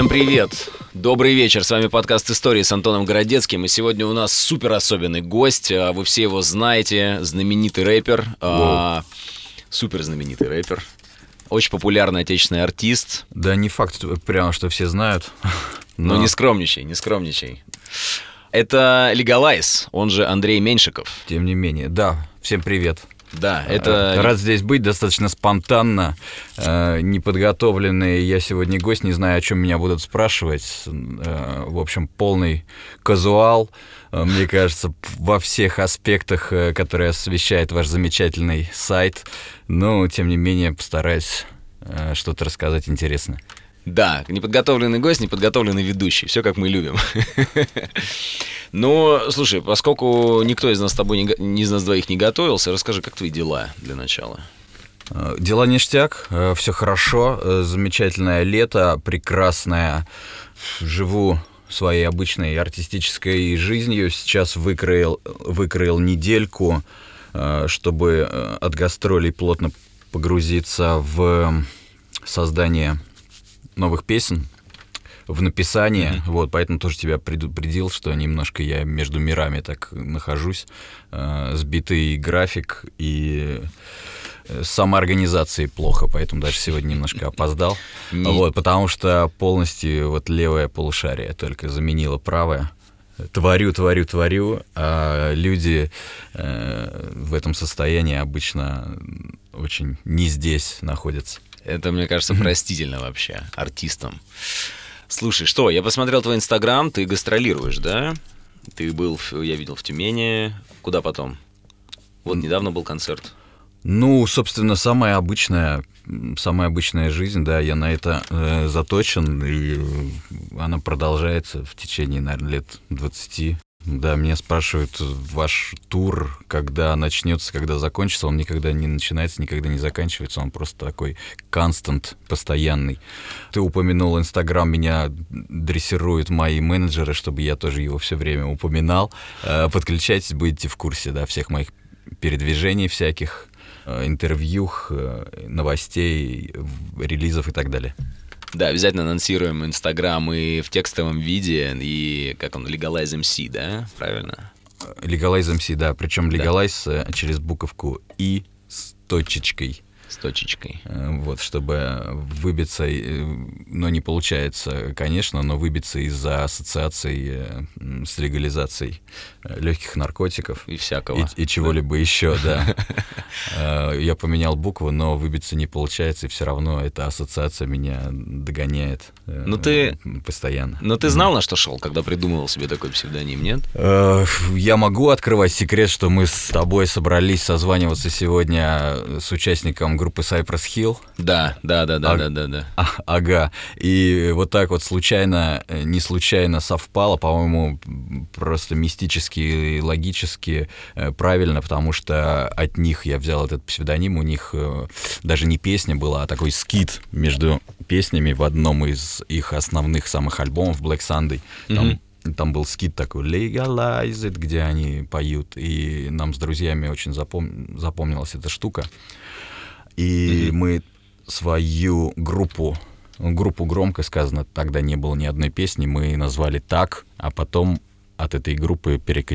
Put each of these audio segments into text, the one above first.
привет! Добрый вечер, с вами подкаст «Истории» с Антоном Городецким. И сегодня у нас супер особенный гость. Вы все его знаете, знаменитый рэпер. Супер знаменитый рэпер. Очень популярный отечественный артист. Да не факт прямо, что все знают. Но не скромничай, не скромничай. Это Лигалайз, он же Андрей Меньшиков. Тем не менее, да, всем привет. Да, это... Рад здесь быть, достаточно спонтанно, неподготовленный. Я сегодня гость, не знаю, о чем меня будут спрашивать. В общем, полный казуал, мне кажется, во всех аспектах, которые освещает ваш замечательный сайт. Но, тем не менее, постараюсь что-то рассказать интересное. Да, неподготовленный гость, неподготовленный ведущий. Все, как мы любим. Но, слушай, поскольку никто из нас с тобой, из нас двоих не готовился, расскажи, как твои дела для начала? Дела ништяк, все хорошо, замечательное лето, прекрасное. Живу своей обычной артистической жизнью. Сейчас выкроил недельку, чтобы от гастролей плотно погрузиться в создание новых песен, в написание, вот, поэтому тоже тебя предупредил, что немножко я между мирами так нахожусь, сбитый график и самоорганизации плохо, поэтому даже сегодня немножко опоздал, вот, потому что полностью вот левое полушарие только заменило правое. Творю, а люди в этом состоянии обычно очень не здесь находятся. Это, мне кажется, простительно вообще артистам. Слушай, что, я посмотрел твой Инстаграм, ты гастролируешь, да? Ты был, я видел, в Тюмени. Куда потом? Вот недавно был концерт. Ну, собственно, самая обычная жизнь, да, я на это заточен, и она продолжается в течение, наверное, лет 20. Да, меня спрашивают, ваш тур, когда начнется, когда закончится, он никогда не начинается, никогда не заканчивается, он просто такой констант, постоянный. Ты упомянул Инстаграм, меня дрессируют мои менеджеры, чтобы я тоже его все время упоминал. Подключайтесь, будете в курсе, да, всех моих передвижений всяких, интервью, новостей, релизов и так далее. Да, обязательно анонсируем Инстаграм и в текстовом виде, и как он, Legalize MC, да? Правильно? Legalize MC, да, причем Legalize через буковку «и» с точечкой. С точечкой. Вот, чтобы выбиться, но не получается, конечно, но выбиться из-за ассоциаций с легализацией легких наркотиков. И всякого. И чего-либо еще, да. Я поменял букву, но выбиться не получается, и все равно эта ассоциация меня догоняет постоянно. Но ты знал, на что шел, когда придумывал себе такой псевдоним, нет? Я могу открывать секрет, что мы с тобой собрались созваниваться сегодня с участником группы Cypress Hill. Да. Ага. И вот так вот не случайно совпало, по-моему, просто мистически и логически правильно, потому что от них я взял этот псевдоним, у них даже не песня была, а такой скит между песнями в одном из их основных самых альбомов, Black Sunday. Там был скит такой Legalize It, где они поют, и нам с друзьями очень запомнилась эта штука. И мы свою группу громко сказано, тогда не было ни одной песни, мы назвали так, а потом от этой группы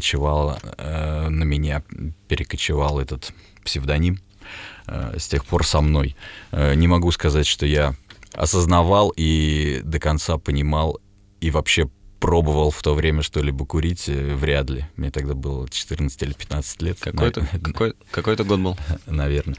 на меня перекочевал этот псевдоним, с тех пор со мной. Не могу сказать, что я осознавал и до конца понимал, и вообще пробовал в то время что-либо курить, вряд ли. Мне тогда было 14 или 15 лет. Какой-то год был? Наверное.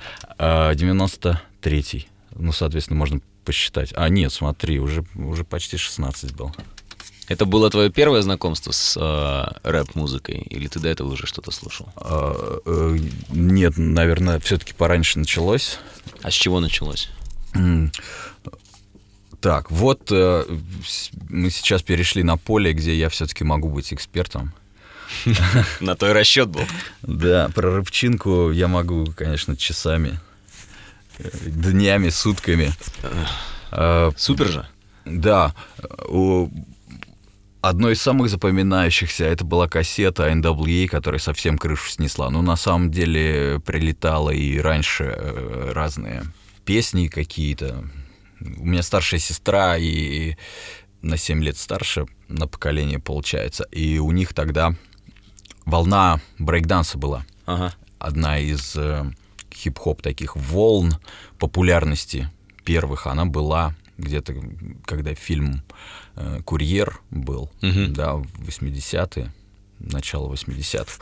93-й. Ну, соответственно, можно посчитать. Нет, смотри, уже почти 16 был. Это было твое первое знакомство с рэп-музыкой? Или ты до этого уже что-то слушал? Нет, наверное, все-таки пораньше началось. А с чего началось? Так, вот мы сейчас перешли на поле, где я все-таки могу быть экспертом. На то и расчет был. Да, про рэпчинку я могу, конечно, часами, днями, сутками. Супер же. Да. Одной из самых запоминающихся это была кассета NWA, которая совсем крышу снесла. Но на самом деле прилетало и раньше разные песни какие-то. У меня старшая сестра, и на 7 лет старше, на поколение получается. И у них тогда волна брейкданса была. Ага. Одна из хип-хоп таких волн популярности первых, она была где-то, когда фильм «Курьер» был, да, в 80-е, начало 80-х.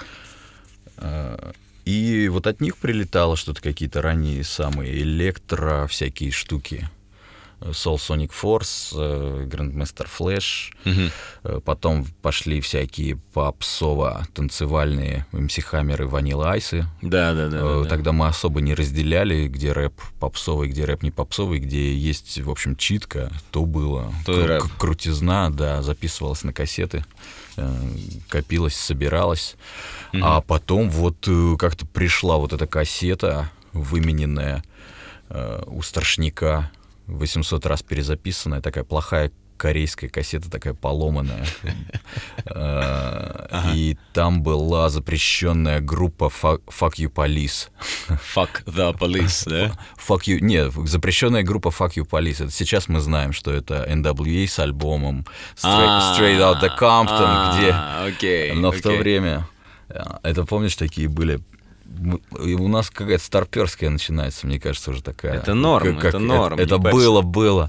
И вот от них прилетало что-то, какие-то ранние самые электро, всякие штуки. Soul Sonic Force, Grandmaster Flash. Потом пошли всякие попсово-танцевальные MC Hammer и Vanilla Ice. Да. Тогда мы особо не разделяли, где рэп попсовый, где рэп не попсовый, где есть, в общем, читка, то было. То крутизна, да, записывалась на кассеты, копилась, собиралась. А потом вот как-то пришла вот эта кассета, вымененная у Страшняка, 800 раз перезаписанная, такая плохая корейская кассета, такая поломанная. И там была запрещенная группа Fuck You Police. Fuck the Police, да? Нет, запрещенная группа Fuck You Police. Это сейчас мы знаем, что это NWA с альбомом Straight Outta Compton, где... Но в то время... Это, помнишь, такие были... У нас какая-то старперская начинается, мне кажется, уже такая. Это норм, это норм. Это было.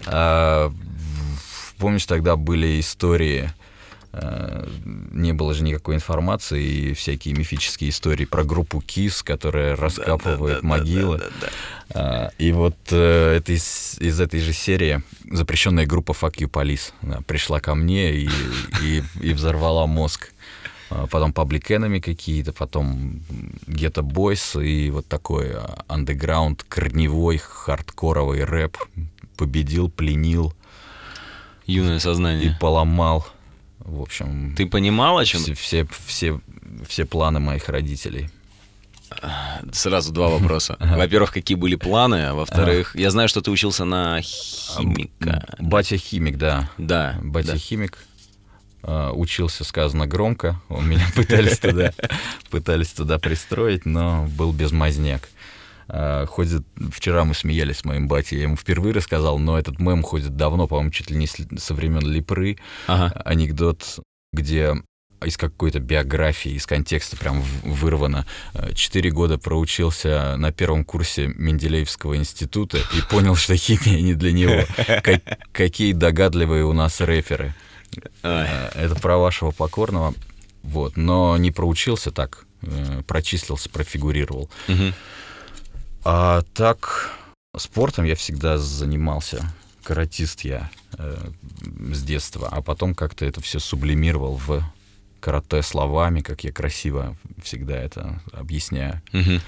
Помнишь, тогда были истории, не было же никакой информации, и всякие мифические истории про группу KISS, которая раскапывает могилы. И вот это из этой же серии запрещенная группа Fuck You Police пришла ко мне и взорвала мозг. Потом Public Enemy какие-то, потом Ghetto Boys и вот такой андеграунд, корневой, хардкоровый рэп победил, пленил. Юное сознание. И поломал. В общем... Ты понимал, о чем? Все планы моих родителей. Сразу два вопроса. Во-первых, какие были планы, а во-вторых, я знаю, что ты учился на химика. Батя-химик, да. Да. Батя-химик. Учился, сказано громко, меня пытались туда пристроить, но был безмазняк. Ходит, вчера мы смеялись с моим батей, я ему впервые рассказал, но этот мем ходит давно, по-моему, чуть ли не со времен Липры. Анекдот, где из какой-то биографии, из контекста прям вырвано. 4 года проучился на первом курсе Менделеевского института и понял, что химия не для него. Какие догадливые у нас рэперы. Это про вашего покорного. Вот. Но не проучился так, прочислился, профигурировал. А так, спортом я всегда занимался. Каратист я с детства. А потом как-то это все сублимировал в карате словами, как я красиво всегда это объясняю.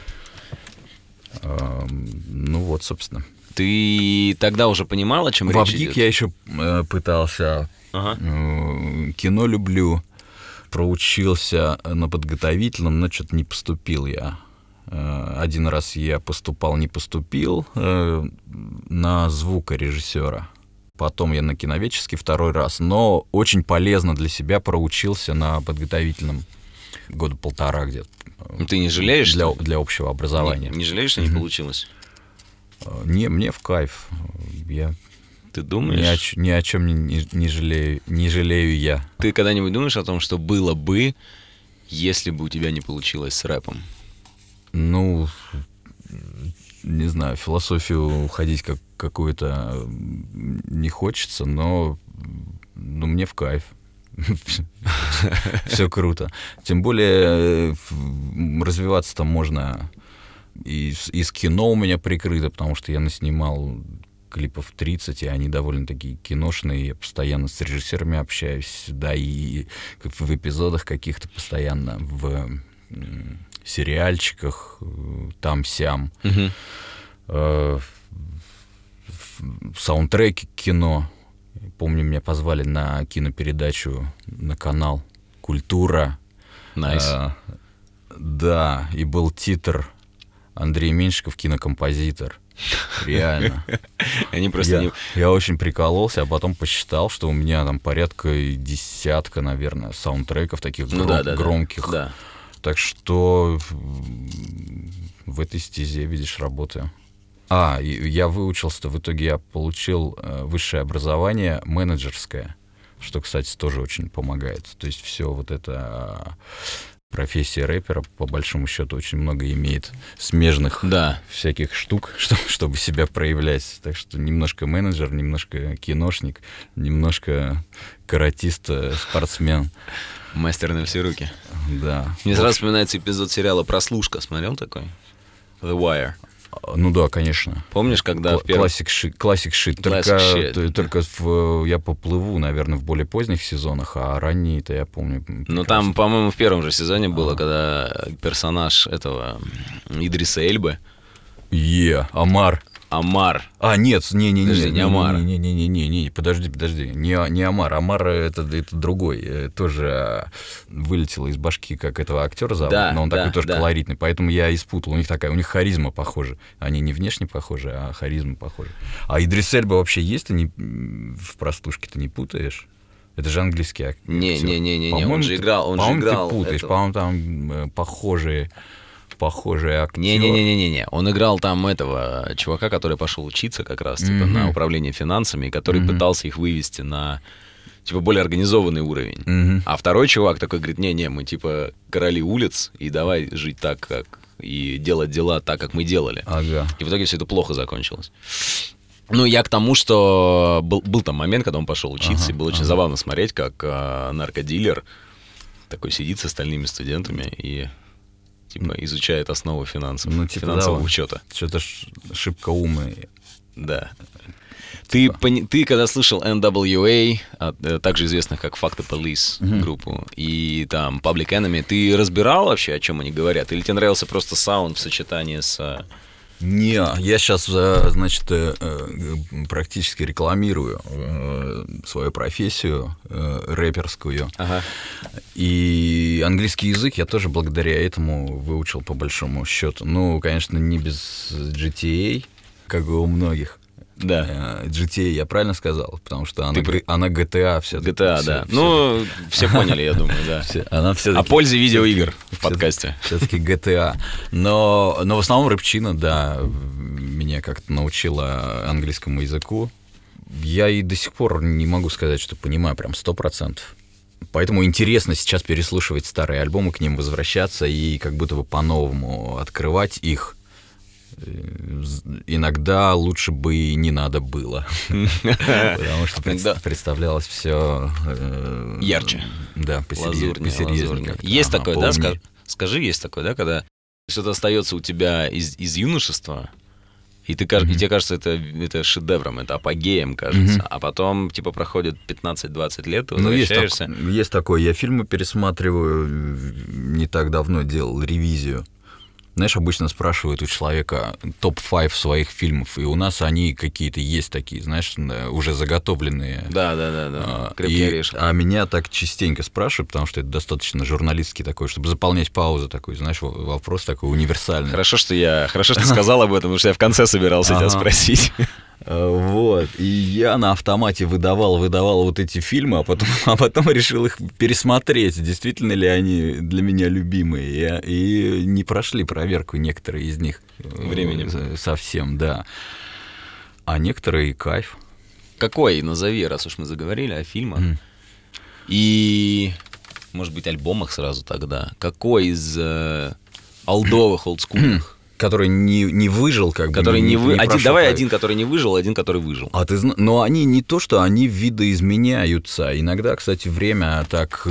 Ну вот, собственно. Ты тогда уже понимал, о чем речь идет? В Абгик я еще пытался... Кино люблю. Проучился на подготовительном, но что-то не поступил я. Один раз я не поступил на звукорежиссера. Потом я на киноведческий второй раз. Но очень полезно для себя проучился на подготовительном года полтора где-то. Ты не жалеешь? Для общего образования. Не жалеешь, что не получилось? Не, мне в кайф. Ты думаешь? Ни о чем не жалею я. Ты когда-нибудь думаешь о том, что было бы, если бы у тебя не получилось с рэпом? Ну, не знаю, в философию уходить какую-то не хочется, но мне в кайф. Все круто. Тем более развиваться там можно. Из кино у меня прикрыто, потому что я наснимал клипов 30, и они довольно такие киношные. Я постоянно с режиссерами общаюсь, да, и в эпизодах каких-то постоянно, в сериальчиках, там-сям. Саундтреки к кино. Помню, меня позвали на кинопередачу на канал «Культура». Nice. Да, и был титр «Андрей Меньшиков, кинокомпозитор». Реально. Я очень прикололся, а потом посчитал, что у меня там порядка десятка, наверное, саундтреков таких громких. Да. Так что в этой стезе, видишь, работаю. Я выучился, в итоге я получил высшее образование менеджерское, что, кстати, тоже очень помогает. То есть все вот это... Профессия рэпера, по большому счету, очень много имеет смежных всяких штук, чтобы себя проявлять. Так что немножко менеджер, немножко киношник, немножко каратист, спортсмен. Мастер на все руки. Да. Мне сразу вспоминается эпизод сериала «Прослушка». Смотрел такой? The Wire. Ну да, конечно. Помнишь, когда в первом... Классик шит. Только я поплыву, наверное, в более поздних сезонах, а ранние-то я помню. Ну там, по-моему, в первом же сезоне было, когда персонаж этого Идриса Эльбы... Омар. Нет, не Омар. Не, подожди. Не Омар. Омар это другой. Тоже вылетело из башки, как этого актера зовут, но он такой тоже колоритный. Поэтому я испутал. У них харизма похожа. Они не внешне похожи, а харизма похожа. А Идрис Эльба вообще есть? Ты в «Простушке»-то не путаешь? Это же английский актер. Не, он же играл. По-моему, ты путаешь. По-моему, там похожие актеры. Не. Он играл там этого чувака, который пошел учиться как раз типа, на управление финансами, и который пытался их вывести на типа более организованный уровень. А второй чувак такой говорит: не, мы типа короли улиц, и давай жить так, как и делать дела так, как мы делали. Ага. И в итоге все это плохо закончилось. Ну, я к тому, что был там момент, когда он пошел учиться, и было очень забавно смотреть, как наркодилер такой сидит с остальными студентами и типа изучает основу финансового учета. Что-то шибко умный. Да. Ты когда слышал NWA, также известных как Fuck the Police группу, и там Public Enemy, ты разбирал вообще, о чем они говорят? Или тебе нравился просто саунд в сочетании с... Не, я сейчас, значит, практически рекламирую свою профессию рэперскую. Ага. И английский язык я тоже благодаря этому выучил по большому счету. Ну, конечно, не без GTA, как и у многих. Да. GTA, я правильно сказал? Потому что она GTA все-таки. GTA, да. Ну, все поняли, я думаю, да. О пользе видеоигр в подкасте. Все-таки GTA. Но в основном рэпчина, да, меня как-то научила английскому языку. Я и до сих пор не могу сказать, что понимаю прям 100%. Поэтому интересно сейчас переслушивать старые альбомы, к ним возвращаться и как будто бы по-новому открывать их. Иногда лучше бы и не надо было. Потому что представлялось все ярче. Да, посерьезнее. Есть такое, да? Скажи, есть такое, да, когда что-то остается у тебя из юношества, и тебе кажется, это шедевром, это апогеем, кажется, а потом, типа, проходит 15-20 лет, ты возвращаешься. Есть такое. Я фильмы пересматриваю, не так давно делал ревизию. Знаешь, обычно спрашивают у человека топ-5 своих фильмов, и у нас они какие-то есть такие, знаешь, уже заготовленные. Да. Крепкий орешек. А меня так частенько спрашивают, потому что это достаточно журналистский такой, чтобы заполнять паузу такой, знаешь, вопрос такой универсальный. Хорошо, что ты сказал об этом, потому что я в конце собирался тебя спросить. Вот, и я на автомате выдавал вот эти фильмы, а потом решил их пересмотреть, действительно ли они для меня любимые, и не прошли проверку некоторые из них. Временем. Совсем, да. А некоторые кайф. Какой, назови, раз уж мы заговорили о фильмах. И, может быть, альбомах сразу тогда. Какой из олдовых, олдскульных? Который не выжил, как который бы. Давай один, который не выжил, один, который выжил. Но они не то, что они видоизменяются. Иногда, кстати, время так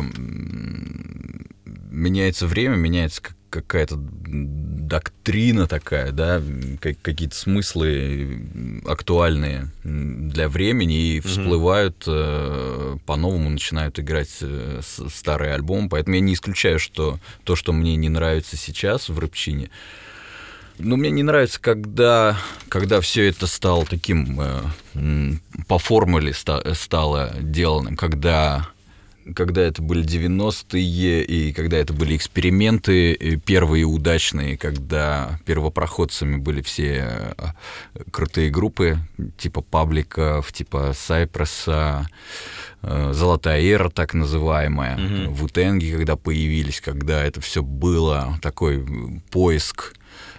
меняется время, меняется какая-то доктрина такая, да, какие-то смыслы актуальные для времени, и всплывают, по-новому начинают играть старые альбомы. Поэтому я не исключаю, что то, что мне не нравится сейчас в рэпчине, но мне не нравится, когда все это стало таким, по формуле стало деланным, когда это были 90-е, и когда это были эксперименты первые удачные, когда первопроходцами были все крутые группы, типа Пабликов, типа Сайпреса, Золотая эра, так называемая, Ву-Тенги, когда появились, когда это все было, такой поиск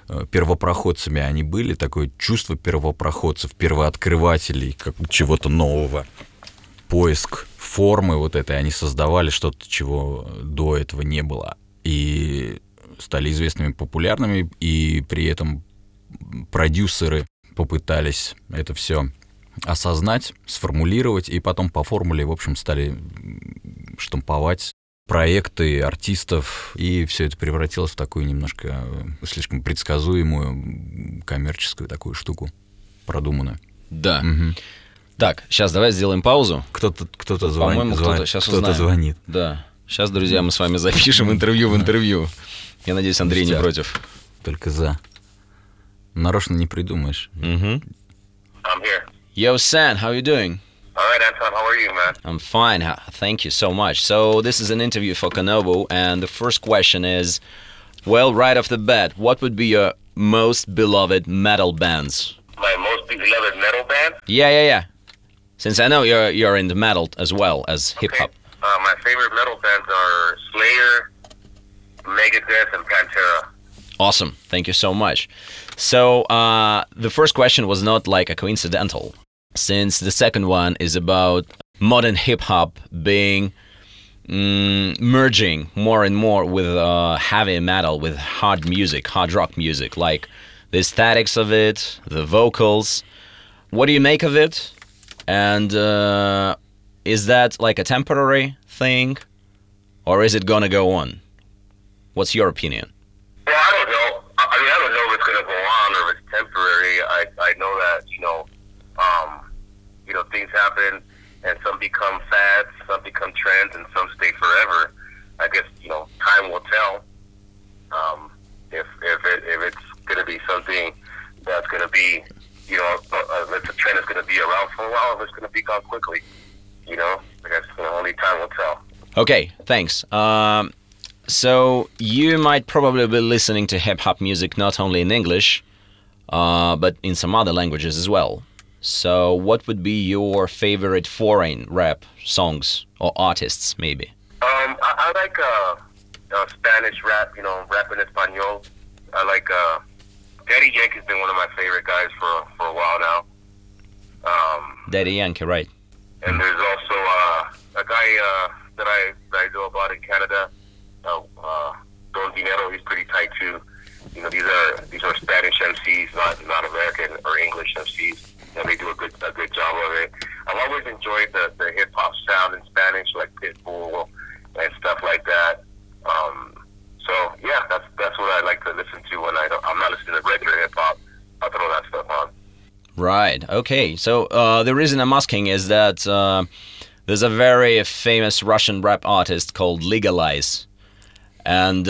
первопроходцами они были, такое чувство первопроходцев, первооткрывателей, как чего-то нового, поиск формы вот этой, они создавали что-то, чего до этого не было, и стали известными, популярными, и при этом продюсеры попытались это все осознать, сформулировать, и потом по формуле, в общем, стали штамповать проекты артистов, и все это превратилось в такую немножко слишком предсказуемую коммерческую такую штуку, продуманную. Да. Угу. Так, сейчас давай сделаем паузу. Кто-то По-моему, кто-то сейчас кто-то звонит. Да. Сейчас, друзья, мы с вами запишем интервью в интервью. Я надеюсь, Андрей не против. Только за. Нарочно не придумаешь. I'm here. Yo, San, how you doing? All right, Anton, how are you, man? I'm fine. Thank you so much. So this is an interview for Kanobu, and the first question is, well, right off the bat, what would be your most beloved metal bands? My most beloved metal band? Yeah. Since I know you're into metal as well as hip-hop. My favorite metal bands are Slayer, Megadeth, and Pantera. Awesome. Thank you so much. So the first question was not like a coincidental, since the second one is about modern hip-hop being merging more and more with heavy metal, with hard music, hard rock music, like the aesthetics of it, the vocals. What do you make of it? And is that like a temporary thing, or is it gonna go on? What's your opinion? Well, I don't know. I don't know if it's gonna go on or if it's temporary. I know that things happen, and some become fads, some become trends, and some stay forever. I guess time will tell if it's gonna be something that's gonna be if the trend is gonna be around for a while, or if it's gonna be gone quickly. I guess only time will tell. Okay, thanks. So you might probably be listening to hip-hop music not only in English, but in some other languages as well. So what would be your favorite foreign rap songs or artists, maybe? I like Spanish rap, rap in Espanol. I like Daddy Yankee's been one of my favorite guys for a while now. Daddy Yankee, right? And there's also a guy that I know about in Canada, Don Dinero. He's pretty tight too. These are Spanish MCs, not American or English MCs, and they do a good job of it. I've always enjoyed the hip hop sound in Spanish, like Pitbull and stuff like that. So yeah, that's what I like to listen to when I'm not listening to regular hip hop. I'll throw that stuff on. Right. Okay. So the reason I'm asking is that there's a very famous Russian rap artist called Legalize. And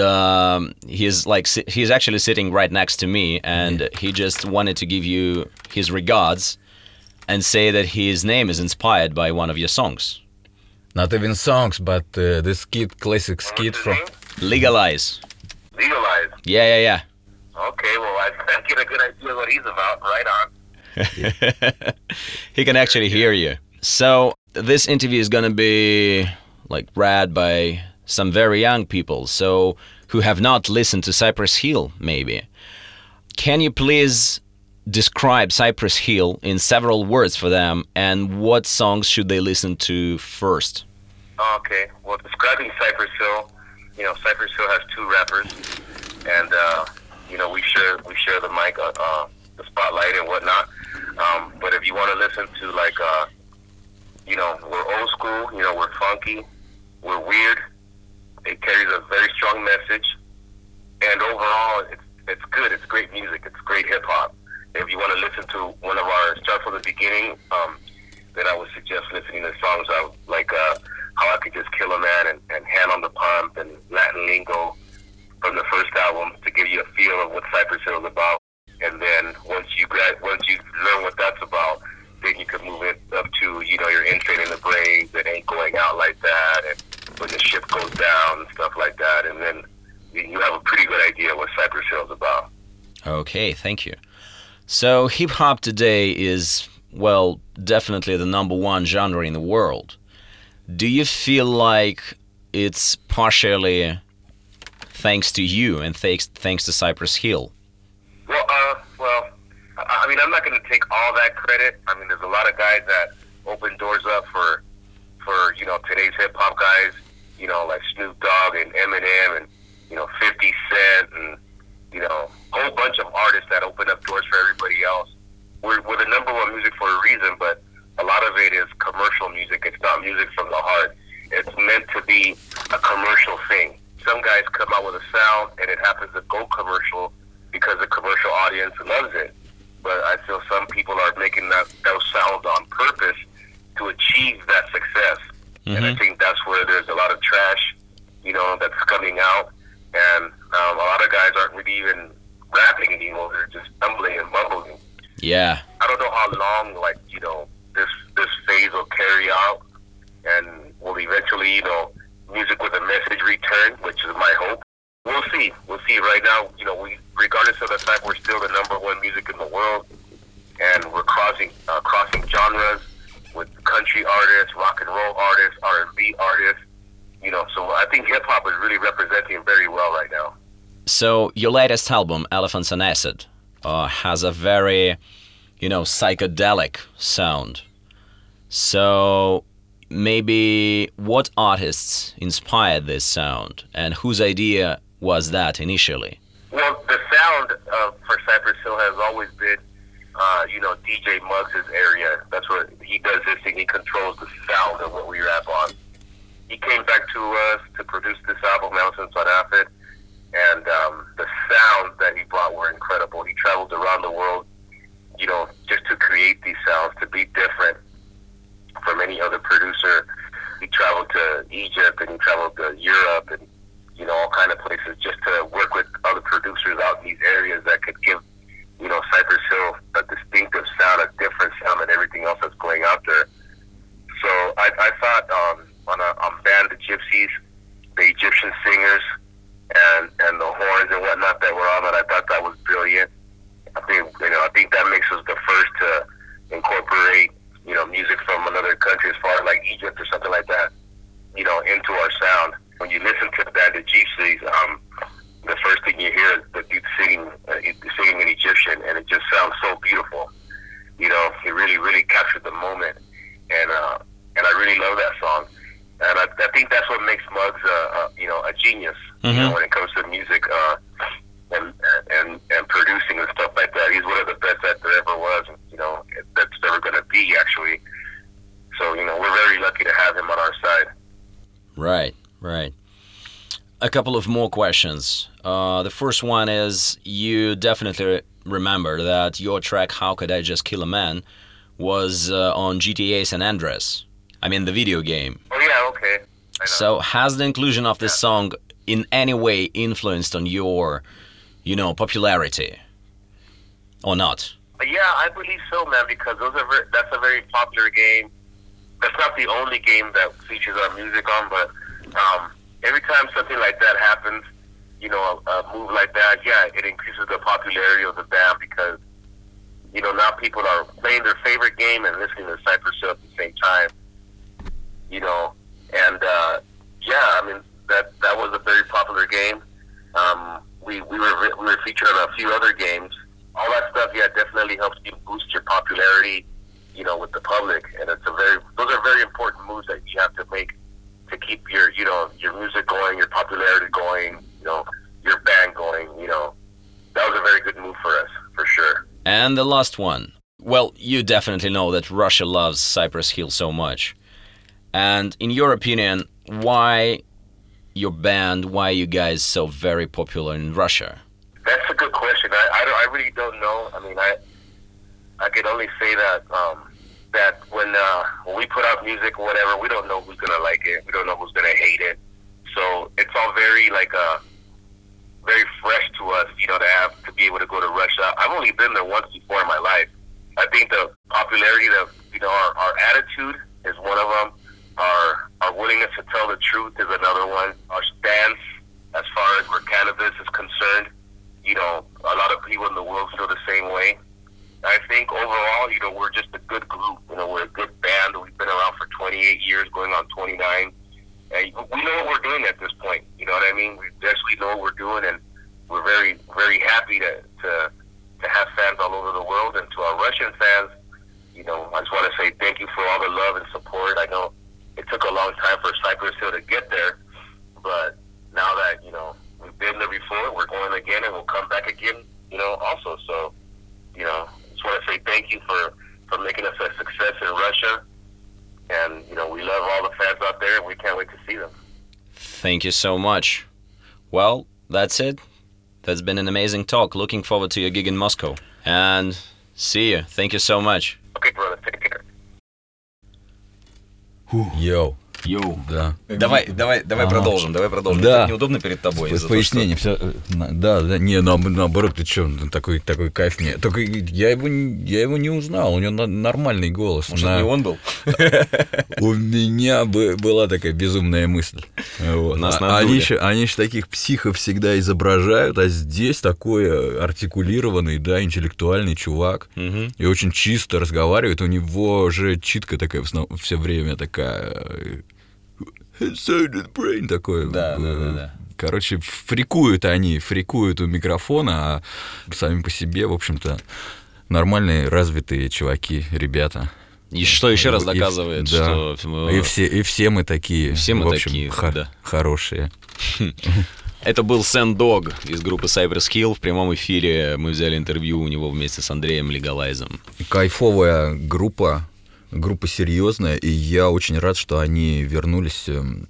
he's actually sitting right next to me, and he just wanted to give you his regards and say that his name is inspired by one of your songs. Not even songs, but the classic skit from Legalize. Legalize? Yeah. Okay, well, I get a good idea what he's about. Right on. He can actually hear you. So this interview is going to be read by some very young people, so who have not listened to Cypress Hill, maybe. Can you please describe Cypress Hill in several words for them, and what songs should they listen to first? Okay, well, describing Cypress Hill, Cypress Hill has two rappers, and we share the mic, the spotlight and whatnot. But if you want to listen to we're old school, we're funky, we're weird. It carries a very strong message, and overall, it's good. It's great music. It's great hip hop. If you want to listen to one of our start from the beginning, then I would suggest listening to songs like "How I Could Just Kill a Man" and "Hand on the Pump" and "Latin Lingo" from the first album to give you a feel of what Cypress Hill is about. And then once you learn what that's about, then you can move it up to your Infant in the Brains, It Ain't Going Out Like That, and When the Ship Goes Down and stuff like that, and then you have a pretty good idea what Cypress Hill is about. Okay, thank you. So hip-hop today is, well, definitely the number one genre in the world. Do you feel like it's partially thanks to you and thanks to Cypress Hill? mean, I'm not going to take all that credit. I mean, there's a lot of guys that open doors up for today's hip hop guys, like Snoop Dogg and Eminem and 50 Cent and a whole bunch of artists that open up doors for everybody else. We're the number one music for a reason, but a lot of it is commercial music. It's not music from the heart. It's meant to be a commercial thing. Some guys come out with a sound and it happens to go commercial because the commercial audience loves it. But I feel some people are making those sounds on purpose to achieve that success. Mm-hmm. And I think that's where there's a lot of trash, that's coming out. And a lot of guys aren't really even rapping anymore. They're just stumbling and mumbling. Yeah. I don't know how long, this phase will carry out, and will eventually, music with a message return, which is my hope. We'll see. Right now, regardless of the fact we're still the number one music in the world, and we're crossing genres with country artists, rock and roll artists, R&B artists. So I think hip hop is really representing very well right now. So your latest album, Elephants and Acid, has a very, psychedelic sound. So maybe what artists inspired this sound, and whose idea was that initially? Well, the sound for Cypress Hill has always been, DJ Muggs' area. That's where he does his thing. He controls the sound of what we rap on. He came back to us to produce this album, Elephants on Acid, and the sounds that he brought were incredible. He traveled around the world, just to create these sounds, to be different from any other producer. He traveled to Egypt and he traveled to Europe and all kind of places just to work with other producers out in these areas that could give Cypress Hill a distinctive sound, a different sound than everything else that's going out there. So I thought on Band the Gypsies, the Egyptian singers and the horns and whatnot that were on it, I thought that was brilliant. I think that makes us the first to incorporate music from another country, as far as like Egypt or something like that, into our sound. When you listen to the Band of Gypsies, the first thing you hear is the dude singing in Egyptian, and it just sounds so beautiful. It really, really captured the moment, and I really love that song. And I think that's what makes Muggs, a genius, mm-hmm. When it comes to music and producing and stuff like that. He's one of the best that there ever was, that's ever going to be, actually. So, we're very lucky to have him on our side. Right. A couple of more questions. The first one is, you definitely remember that your track, How Could I Just Kill a Man, was on GTA San Andreas. I mean, the video game. Oh, yeah, okay. I know. So has the inclusion of this song in any way influenced on your, popularity? Or not? Yeah, I believe so, man, because that's a very popular game. That's not the only game that features our music on, but every time something like that happens, a move like that, yeah, it increases the popularity of the band because, now people are playing their favorite game and listening to Cypress Hill at the same time, that was a very popular game. We were featured on a few other games. All that stuff, yeah, definitely helps you boost your popularity, with the public, and those are very important moves that you have to make to keep your music going, your popularity going, your band going. That was a very good move for us, for sure. And the last one. Well, you definitely know that Russia loves Cypress Hill so much. And in your opinion, why your band, why you guys so very popular in Russia? That's a good question. I really don't know. I mean, I can only say that that when we put out music or whatever, we don't know who's gonna like it. We don't know who's gonna hate it. So it's all very very fresh to us, to be able to go to Russia. I've only been there once before in my life. I think the popularity that our attitude is one of them. Our willingness to tell the truth is another one. Our stance as far as where cannabis is concerned, a lot of people in the world feel the same way. I think overall, we're just a good group. We're a good band. We've been around for 28 years, going on 29. And we know what we're doing at this point. You know what I mean? We actually know what we're doing, and we're very, very happy to to have fans all over the world. And to our Russian fans, you know, I just want to say thank you for all the love and support. I know it took a long time for Cypress Hill to get there, but now that, you know, we've been there before, we're going again, and we'll come back again, you know, also. So, you know, just want to say thank you for making us a success in Russia. And, you know, we love all the fans out there, and we can't wait to see them. Thank you so much. Well, that's it. That's been an amazing talk. Looking forward to your gig in Moscow. And see you. Thank you so much. Okay, brother, take care. Йоу. Йоу. Да. Давай продолжим. Да. Так неудобно перед тобой. С пояснением. Да, не, наоборот, ты что, такой кайф мне. Только я его не узнал, у него нормальный голос. Может, не он был? У меня была такая безумная мысль. Вот. Они же таких психов всегда изображают, а здесь такой артикулированный, да, интеллектуальный чувак. И очень чисто разговаривает. У него же читка такая все время такая... brain такой. Да. Короче, фрикуют у микрофона, а сами по себе, в общем-то, нормальные, развитые чуваки, ребята. И что еще раз доказывает, что... И все мы такие, в общем, такие, хорошие. Это был Сэм Дог из группы Cypress Hill. В прямом эфире мы взяли интервью у него вместе с Андреем Легалайзом. Кайфовая группа серьезная, и я очень рад, что они вернулись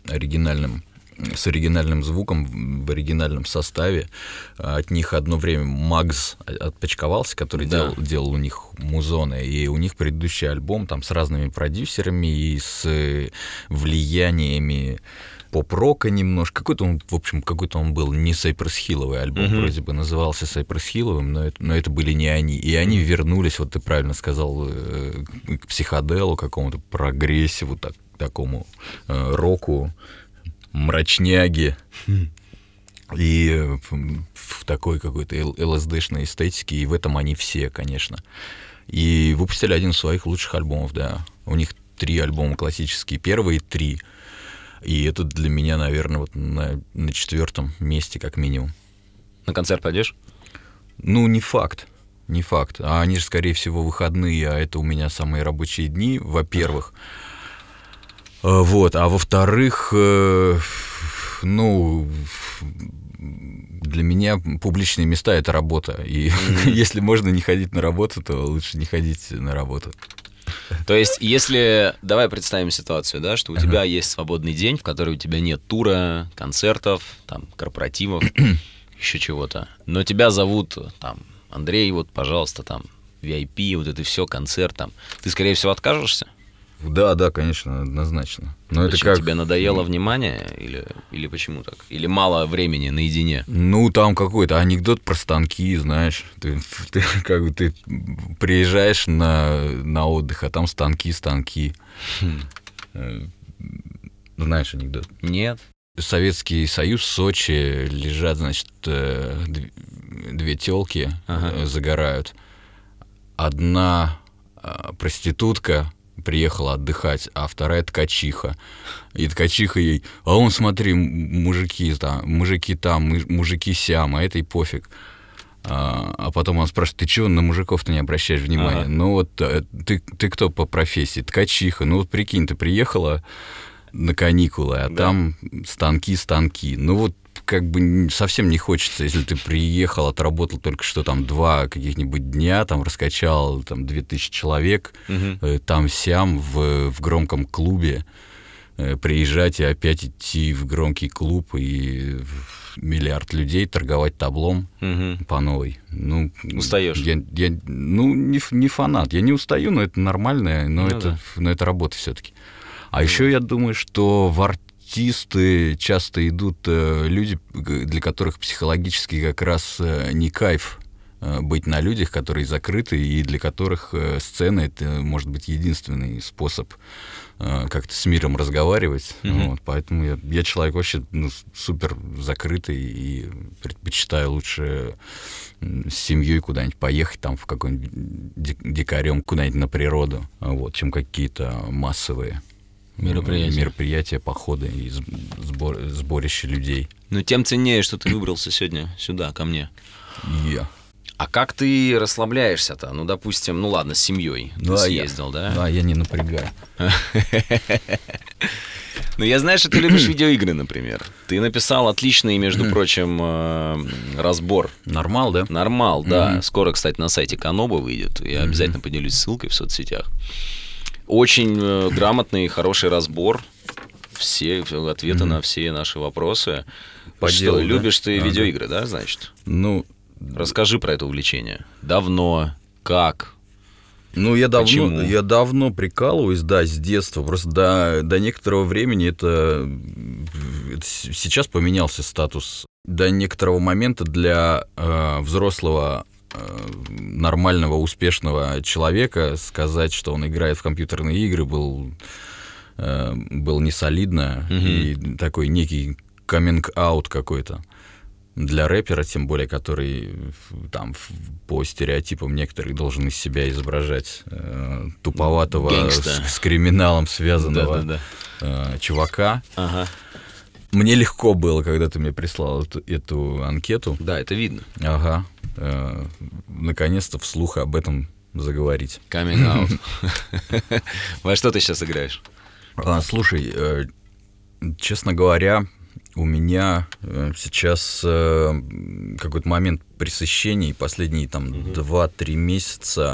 с оригинальным звуком, в оригинальном составе. От них одно время Магз отпочковался, который делал у них музоны, и у них предыдущий альбом там с разными продюсерами и с влияниями поп-рока немножко. Какой-то он был не Сайпресс-Хилловый альбом, вроде бы назывался Сайпресс-Хилловым, но это были не они. И они вернулись, вот ты правильно сказал, к психоделу, какому-то прогрессиву, такому року, мрачняге. И в такой какой-то ЛСДшной эстетике, и в этом они все, конечно. И выпустили один из своих лучших альбомов, да. У них 3 альбома классические, первые 3. И это для меня, наверное, вот на 4-м месте, как минимум. На концерт пойдешь? Ну, не факт. А они же, скорее всего, выходные, а это у меня самые рабочие дни, во-первых. Вот, а во-вторых, для меня публичные места — это работа. И если можно не ходить на работу, то лучше не ходить на работу. То есть, если... Давай представим ситуацию, да, что у тебя есть свободный день, в который у тебя нет тура, концертов, там, корпоративов, еще чего-то. Но тебя зовут, там, Андрей, вот, пожалуйста, там, VIP, вот это все, концерт, там. Ты, скорее всего, откажешься? Да, конечно, однозначно. Но почему, это как... тебе надоело внимание или почему так? Или мало времени наедине? Ну, там какой-то анекдот про станки, знаешь. Ты приезжаешь на отдых, а там станки. Знаешь анекдот? Нет. Советский Союз, Сочи, лежат, значит, 2 тёлки, загорают. Одна проститутка приехала отдыхать, а вторая ткачиха. И ткачиха ей: а он, смотри, мужики там, мужики сям, а этой пофиг. А потом он спрашивает: ты чего на мужиков-то не обращаешь внимания? Ну вот ты кто по профессии? Ткачиха. Ну вот прикинь, ты приехала на каникулы, а там станки. Ну вот как бы совсем не хочется, если ты приехал, отработал только что там 2 каких-нибудь дня, там раскачал там 2000 человек, там-сям в громком клубе, приезжать и опять идти в громкий клуб и миллиард людей торговать таблом по новой. Ну, устаешь? Я не фанат, я не устаю, но это нормально, но это работа все-таки. А еще я думаю, что в артисты часто идут люди, для которых психологически как раз не кайф быть на людях, которые закрыты, и для которых сцена — это, может быть, единственный способ как-то с миром разговаривать. Вот, поэтому я человек вообще супер закрытый и предпочитаю лучше с семьей куда-нибудь поехать, там в какой-нибудь дикарем куда-нибудь на природу, вот, чем какие-то массовые мероприятия, походы и сборища людей. Но тем ценнее, что ты выбрался сегодня сюда, ко мне. А как ты расслабляешься-то? Ну, допустим, ну ладно, с семьей ты съездил, да? Да, я не напрягаю. Ну, я знаю, что ты любишь видеоигры, например. Ты написал отличный, между прочим, разбор. Нормал, да? Нормал, да. Скоро, кстати, на сайте Каноба выйдет. Я обязательно поделюсь ссылкой в соцсетях. Очень грамотный, хороший разбор. Все ответы на все наши вопросы. По что, делу, любишь да? ты видеоигры, да, значит? Ну, расскажи про это увлечение. Давно, как? Ну, я давно прикалываюсь, да, с детства. Просто до некоторого времени это сейчас поменялся статус. До некоторого момента для взрослого, нормального, успешного человека сказать, что он играет в компьютерные игры, был не солидно. И такой некий каминг-аут какой-то. Для рэпера, тем более, который там по стереотипам некоторых должен из себя изображать туповатого с криминалом связанного чувака. Ага. Мне легко было, когда ты мне прислал эту анкету. Да, это видно. Ага. Наконец-то вслух об этом заговорить. Coming out. Во что ты сейчас играешь? Слушай, честно говоря, у меня сейчас какой-то момент пресыщения, и последние там 2-3 месяца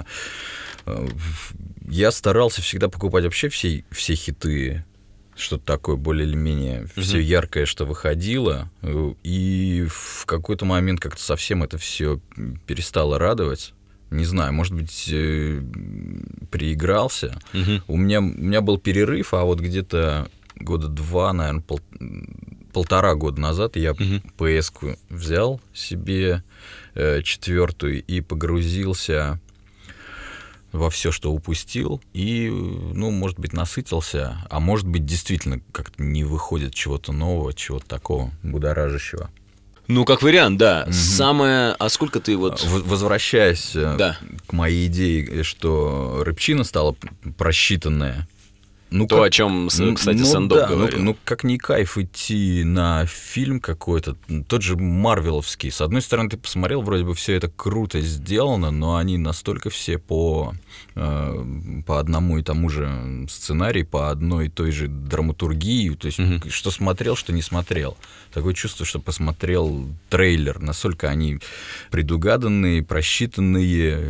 я старался всегда покупать вообще все хиты, что-то такое более или менее, все яркое, что выходило, и в какой-то момент как-то совсем это все перестало радовать. Не знаю, может быть, переигрался. У меня был перерыв, а вот где-то года 2, наверное, полтора года назад я PS-ку взял себе 4 и погрузился во все, что упустил, и, ну, может быть, насытился, а может быть, действительно как-то не выходит чего-то нового, чего-то такого будоражащего. Ну, как вариант, да. Самое... А сколько ты вот... Возвращаясь к моей идее, что рэпчина стала просчитанная. То, о чем, кстати, Сэндок говорил. Ну, как не кайф идти на фильм какой-то, тот же марвеловский. С одной стороны, ты посмотрел, вроде бы все это круто сделано, но они настолько все по одному и тому же сценарию, по одной и той же драматургии. То есть, что смотрел, что не смотрел. Такое чувство, что посмотрел трейлер. Настолько они предугаданные, просчитанные,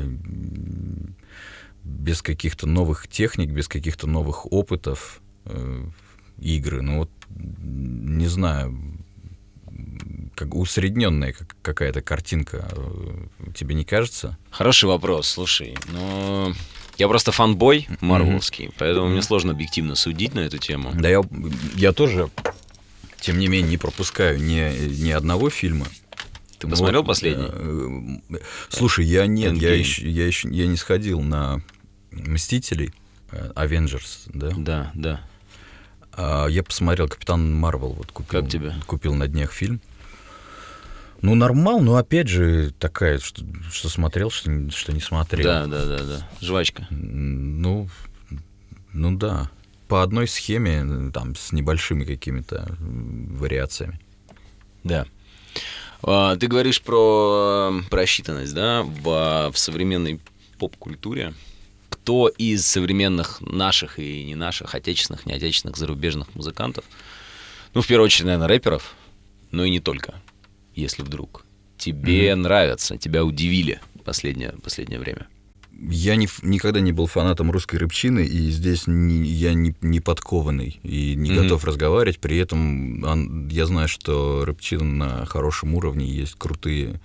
без каких-то новых техник, без каких-то новых опытов игры. Ну вот, не знаю, как усредненная какая-то картинка. Тебе не кажется? Хороший вопрос, слушай. Ну, я просто фанбой марвеловский, поэтому мне сложно объективно судить на эту тему. Да, я тоже, тем не менее, не пропускаю ни одного фильма. Ты посмотрел последний? Слушай, я не сходил на «Мстителей», «Avengers», да? Да. Я посмотрел «Капитан Марвел», вот купил. Как тебе? Купил на днях фильм. Ну, нормал, но опять же такая, что смотрел, что не смотрел. Да. Жвачка. Ну да. По одной схеме, там, с небольшими какими-то вариациями. Да. Ты говоришь про просчитанность, да, в современной поп-культуре. Кто из современных наших и не наших, отечественных, не отечественных, зарубежных музыкантов, ну, в первую очередь, наверное, рэперов, но и не только, если вдруг тебе нравятся, тебя удивили последнее время? Я никогда не был фанатом русской рэпчины, и здесь я не подкованный и не готов разговаривать. При этом я знаю, что рэпчина на хорошем уровне, есть крутые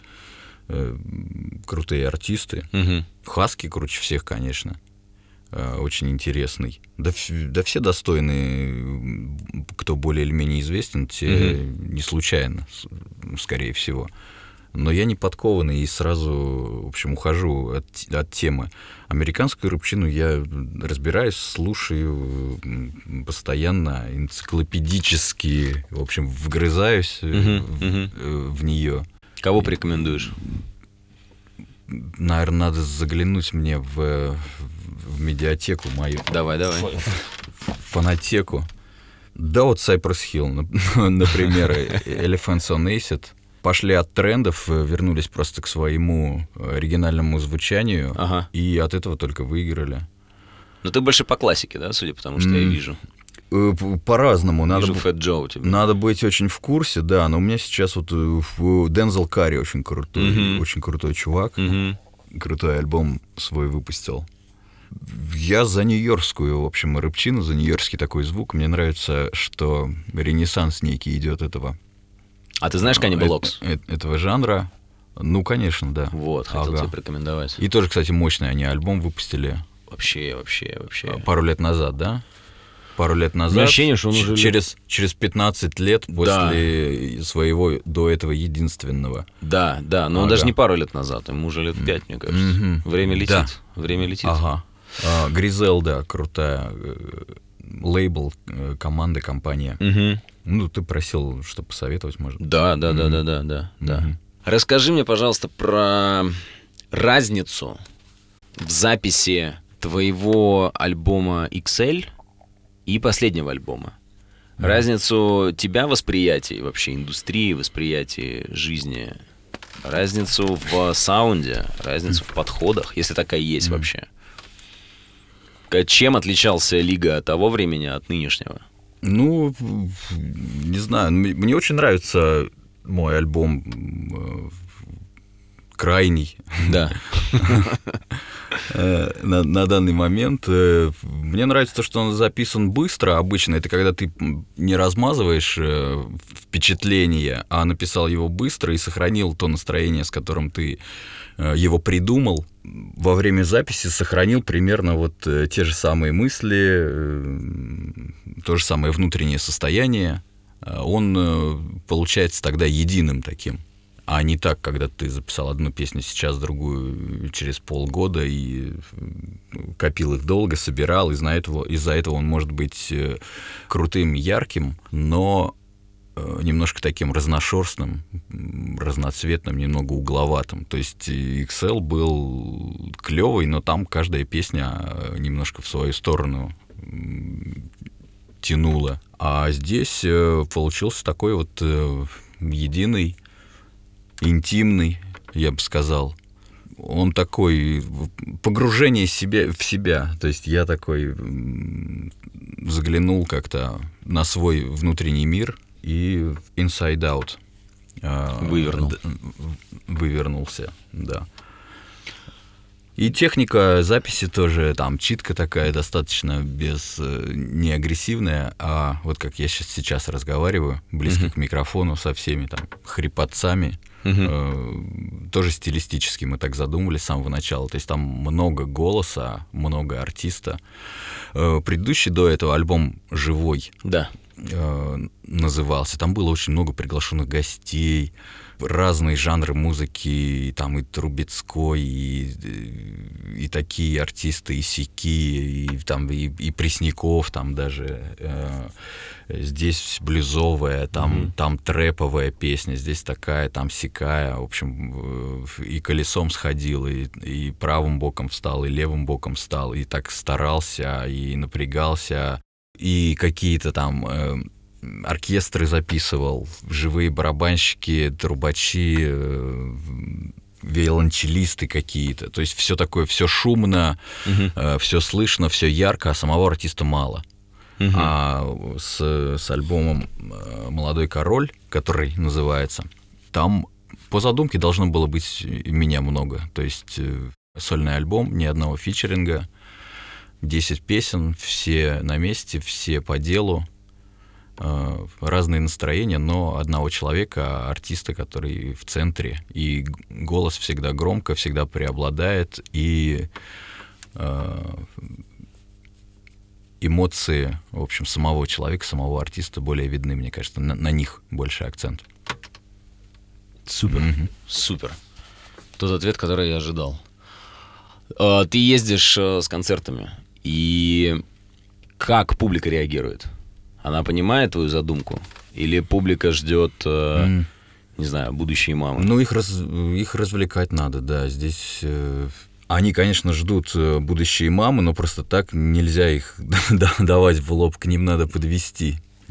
артисты. Хаски круче всех, конечно. Очень интересный. Да все достойные, кто более или менее известен, те не случайно, скорее всего. Но я не подкованный и сразу, в общем, ухожу от темы. Американскую рэпчину я разбираюсь, слушаю постоянно, энциклопедически, в общем, вгрызаюсь в нее. Кого порекомендуешь? Наверное, надо заглянуть мне в медиатеку мою. Давай. Фонотеку. Да, вот Cypress Hill, например, Elephants on Acid. пошли от трендов, вернулись просто к своему оригинальному звучанию, и от этого только выиграли. Но ты больше по классике, да, судя по тому, что я вижу? По-разному. Вижу Фэт Джо у тебя. Надо быть очень в курсе, да, но у меня сейчас вот Дензел Карри очень крутой чувак, крутой альбом свой выпустил. Я за нью-йоркскую, в общем, рэпчину, за нью-йоркский такой звук. Мне нравится, что ренессанс некий идет этого. А ты знаешь Cannibal Ox? Этого жанра. Ну, конечно, да. Вот, хотел тебе порекомендовать. И тоже, кстати, мощный они альбом выпустили. Вообще. Пару лет назад, да? Пару лет назад. Ощущение, что он уже через 15 лет после своего до этого единственного. Да, но он даже не пару лет назад, ему уже лет 5, мне кажется. Время летит. Да. Время летит. Ага. Гризелда, крутая лейбл, команда, компания. Ну, ты просил, что посоветовать, может быть. Да. Расскажи мне, пожалуйста, про разницу в записи твоего альбома XL и последнего альбома. Разницу тебя восприятия, вообще индустрии, восприятия жизни, разницу в саунде, разницу в подходах, если такая есть вообще. Чем отличался Лига того времени от нынешнего? Ну, не знаю, мне очень нравится мой альбом «Крайний». Да. На данный момент. Мне нравится то, что он записан быстро. Обычно это когда ты не размазываешь впечатление, а написал его быстро и сохранил то настроение, с которым ты его придумал. Во время записи сохранил примерно вот те же самые мысли, то же самое внутреннее состояние. Он получается тогда единым таким. А не так, когда ты записал одну песню сейчас, другую через полгода и копил их долго, собирал. Из-за этого он может быть крутым, ярким, но немножко таким разношерстным, разноцветным, немного угловатым. То есть XL был клевый, но там каждая песня немножко в свою сторону тянула. А здесь получился такой вот единый, интимный, я бы сказал. Он такой, погружение в себя. То есть я такой заглянул как-то на свой внутренний мир и inside out вывернулся, да. И техника записи тоже, там, читка такая достаточно не агрессивная, а вот как я сейчас разговариваю, близко к микрофону со всеми там хрипотцами, тоже стилистически мы так задумывались с самого начала. То есть там много голоса, много артиста. Предыдущий до этого альбом «Живой» назывался. Там было очень много приглашенных гостей, разные жанры музыки, и там и Трубецкой, и такие артисты, и сяки, и там и Пресняков, там даже здесь блюзовая, там трэповая песня, здесь такая, там сякая, в общем, и колесом сходил, и правым боком встал, и левым боком встал, и так старался, и напрягался, и какие-то там оркестры записывал, живые барабанщики, трубачи, виолончелисты какие-то. То есть все такое, все шумно, все слышно, все ярко, а самого артиста мало. А с альбомом «Молодой король», который называется, там по задумке должно было быть меня много. То есть сольный альбом, ни одного фичеринга, 10 песен, все на месте, все по делу. Разные настроения, но одного человека, артиста, который в центре, и голос всегда громко, всегда преобладает, и эмоции, в общем, самого человека, самого артиста более видны, мне кажется, на них больше акцент. Супер, супер. Тот ответ, который я ожидал. Ты ездишь с концертами, и как публика реагирует? Она понимает твою задумку? Или публика ждет, не знаю, будущие мамы? Ну, их развлекать надо, да. Здесь они, конечно, ждут будущие мамы, но просто так нельзя их давать в лоб, к ним надо подвести. Да.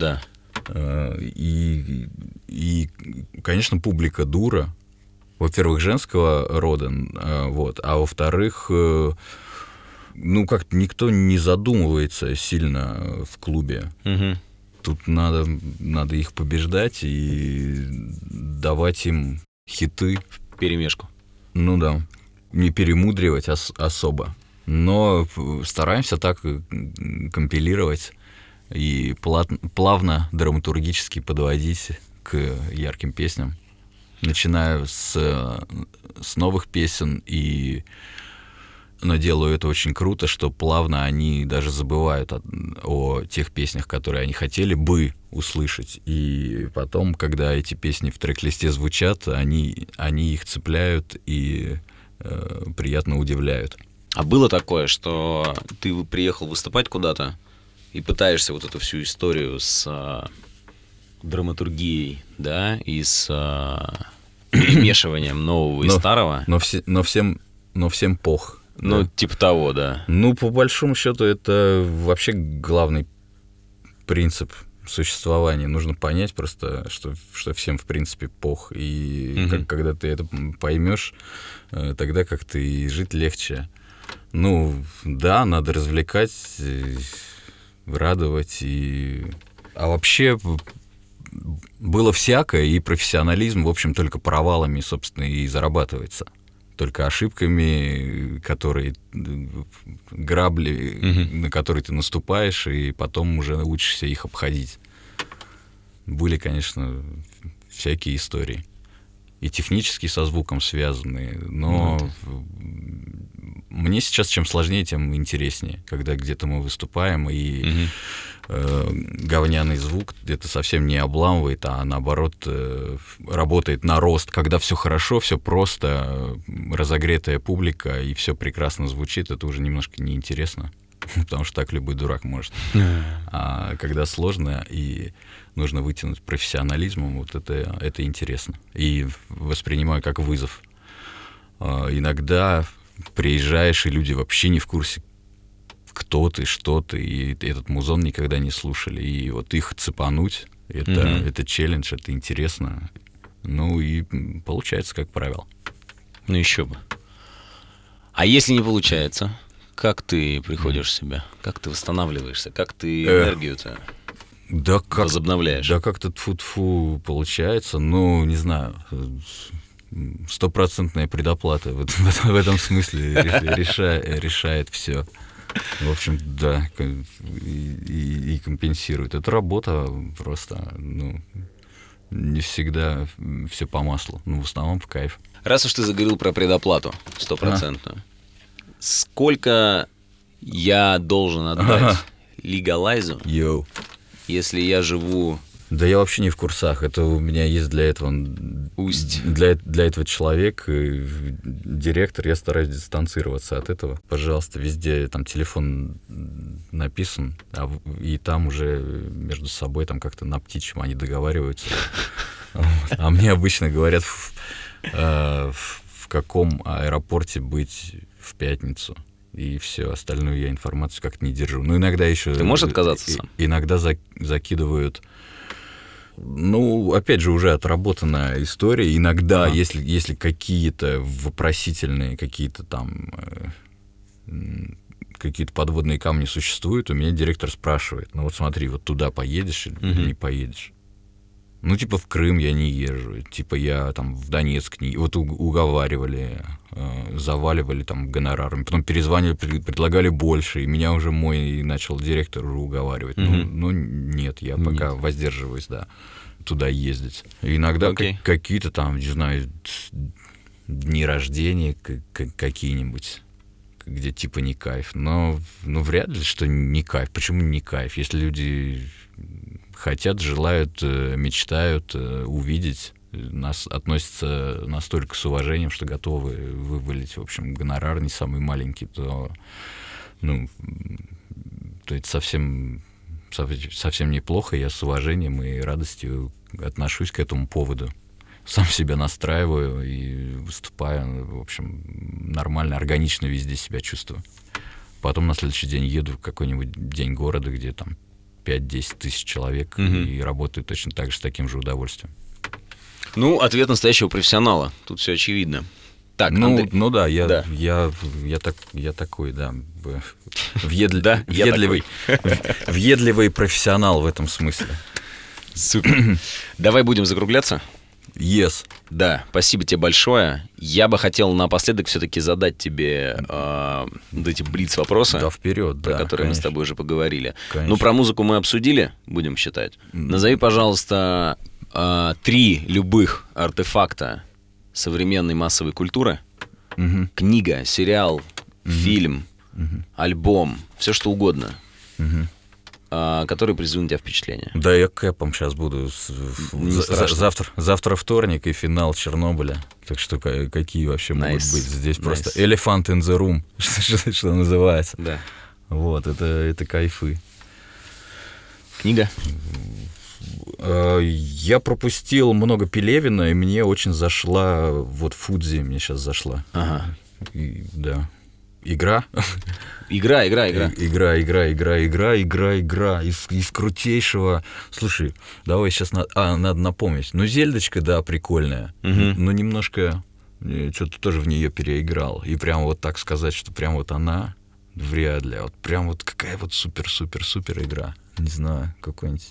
И, конечно, публика дура. Во-первых, женского рода, вот, а во-вторых, как-то никто не задумывается сильно в клубе. Угу. Тут надо их побеждать и давать им хиты. Перемешку. Ну да, не перемудривать особо. Но стараемся так компилировать и плавно, драматургически подводить к ярким песням. Начинаю с новых песен, но делаю это очень круто, что плавно они даже забывают о тех песнях, которые они хотели бы услышать. И потом, когда эти песни в трек-листе звучат, они их цепляют и приятно удивляют. А было такое, что ты приехал выступать куда-то и пытаешься вот эту всю историю с драматургией, да, и с перемешиванием нового и старого? Но всем пох. Ну, да. Типа того, да. Ну, по большому счету, это вообще главный принцип существования. Нужно понять просто, что всем, в принципе, пох. И когда ты это поймешь, тогда как-то и жить легче. Ну, да, надо развлекать, радовать. А вообще было всякое, и профессионализм, в общем, только провалами, собственно, и зарабатывается. Только ошибками, грабли, на которые ты наступаешь, и потом уже учишься их обходить. Были, конечно, всякие истории. И технически со звуком связанные, но мне сейчас чем сложнее, тем интереснее, когда где-то мы выступаем, и говняный звук где-то совсем не обламывает, а наоборот работает на рост. Когда все хорошо, все просто, разогретая публика, и все прекрасно звучит, это уже немножко неинтересно, потому что так любой дурак может. А когда сложно и нужно вытянуть профессионализмом, вот это интересно. И воспринимаю как вызов. Иногда приезжаешь, и люди вообще не в курсе, кто ты, что ты, и этот музон никогда не слушали. И вот их цепануть, это челлендж, это интересно. Ну и получается, как правило. Ну еще бы. А если не получается, как ты приходишь в себя? Как ты восстанавливаешься? Как ты энергию-то возобновляешь? Да как-то тфу-тфу получается, ну, не знаю, 100% предоплата в этом смысле решает все. В общем, да, и компенсирует. Это работа просто, не всегда все по маслу, в основном в кайф. Раз уж ты заговорил про предоплату 100%, сколько я должен отдать легалайзу, если я живу... Да я вообще не в курсах. Это у меня есть для этого для этого человек, директор. Я стараюсь дистанцироваться от этого. Пожалуйста, везде там телефон написан, и там уже между собой там как-то на птичьем они договариваются. А мне обычно говорят, в каком аэропорте быть в пятницу. И все, остальную я информацию как-то не держу. Ну, иногда еще... Ты можешь отказаться сам? Иногда закидывают... Ну, опять же, уже отработанная история. Иногда, если какие-то вопросительные, какие-то подводные камни существуют, у меня директор спрашивает, ну вот смотри, вот туда поедешь или не поедешь? Ну, типа в Крым я не езжу, типа я там в Донецк не... Вот уговаривали, заваливали там гонорарами, потом перезванивали, предлагали больше, и меня уже мой начал директор уговаривать. Ну, нет, я пока воздерживаюсь, да, туда ездить. И иногда какие-то там, не знаю, дни рождения какие-нибудь, где типа не кайф. Но вряд ли, что не кайф. Почему не кайф? Если люди хотят, желают, мечтают увидеть, нас относятся настолько с уважением, что готовы вывалить, в общем, гонорар не самый маленький, то это совсем неплохо. Я с уважением и радостью отношусь к этому поводу. Сам себя настраиваю и выступаю, в общем, нормально, органично везде себя чувствую. Потом на следующий день еду в какой-нибудь день города, где там 5-10 тысяч человек и работают точно так же, с таким же удовольствием. Ну, ответ настоящего профессионала. Тут все очевидно. Так, ну да, Да. я такой, да, въедливый профессионал в этом смысле. Супер. Давай будем закругляться. Yes. Да, спасибо тебе большое. Я бы хотел напоследок все-таки задать тебе вот эти блиц-вопросы, Да, вперед, про да, которые мы с конечно. тобой уже поговорили. Конечно. Ну, про музыку мы обсудили, будем считать. Назови, пожалуйста, 3 любых артефакта современной массовой культуры. Книга, сериал, фильм, альбом, все что угодно, которые произведут на тебя впечатление. Да, я кэпом сейчас буду. Завтра вторник и финал Чернобыля. Так что какие вообще могут быть? Здесь просто elephant in the room, что называется. Да. Вот, это кайфы. Книга? Я пропустил много Пелевина, и мне очень зашла, вот Фудзи мне сейчас зашла. Ага. Да. Игра. Игра. Из крутейшего. Слушай, давай сейчас надо напомнить. Ну, Зельдочка, да, прикольная. Но немножко что-то тоже в нее переиграл. И прям вот так сказать, что прям вот она, вряд ли. Вот прям вот какая вот супер игра. Не знаю, какой-нибудь.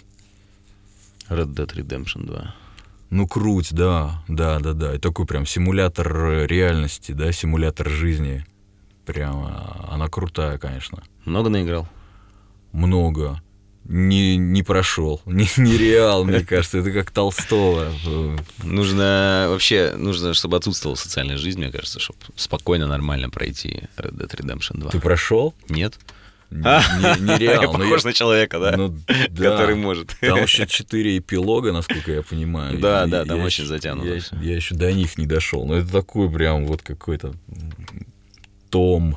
Red Dead Redemption 2. Ну, круть, да. И такой прям симулятор реальности, да, симулятор жизни. Прям она крутая, конечно. Много наиграл? Много. Не прошел. Нереал, мне кажется. Это как Толстого. Нужно, чтобы отсутствовала социальная жизнь, мне кажется, чтобы спокойно, нормально пройти Red Dead Redemption 2. Ты прошел? Нет? Нереал. Я похож на человека, да? Ну, да. Который может. Там еще 4 эпилога, насколько я понимаю. Да, там очень затянуто. Я еще до них не дошел. Но это такой прям вот какой-то том,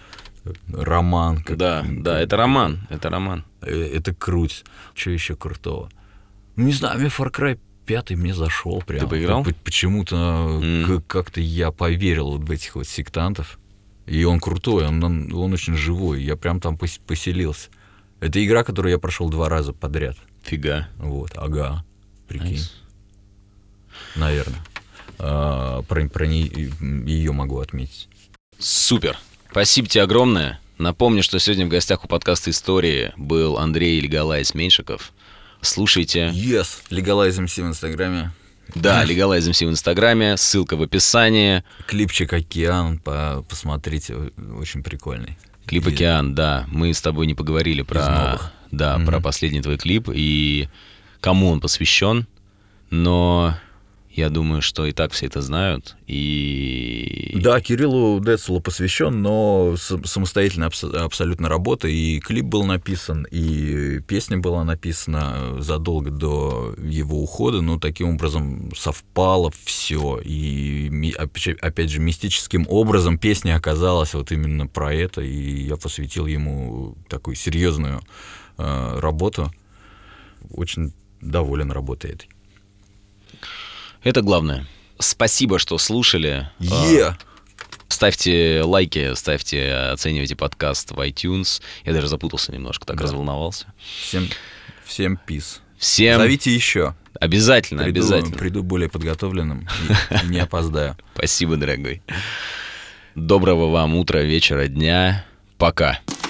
роман. Да, это роман. Это круть. Что еще крутого? Ну, не знаю, мне Far Cry 5 мне зашел прям. Ты поиграл? Почему-то как-то я поверил в этих вот сектантов. И он крутой, он очень живой. Я прям там поселился. Это игра, которую я прошел 2 раза подряд. Фига. Вот, ага. Прикинь. Наверное. Про ее могу отметить. Супер. Спасибо тебе огромное. Напомню, что сегодня в гостях у подкаста «Истории» был Андрей Legalize Меньшиков. Слушайте. Yes, Legalize MC в Инстаграме. Да, Legalize MC в Инстаграме, ссылка в описании. Клипчик «Океан», посмотрите, очень прикольный. Клип «Океан», да. Мы с тобой не поговорили про последний твой клип и кому он посвящен, но я думаю, что и так все это знают. Да, Кириллу Децелу посвящен, но самостоятельная абсолютно работа. И клип был написан, и песня была написана задолго до его ухода. Но таким образом совпало все. И опять же, мистическим образом песня оказалась вот именно про это. И я посвятил ему такую серьезную работу. Очень доволен работой этой. Это главное. Спасибо, что слушали. Ставьте лайки, оценивайте подкаст в iTunes. Я даже запутался немножко, так разволновался. Всем peace. Всем... Зовите еще. Обязательно. Приду более подготовленным и не опоздаю. Спасибо, дорогой. Доброго вам утра, вечера, дня. Пока.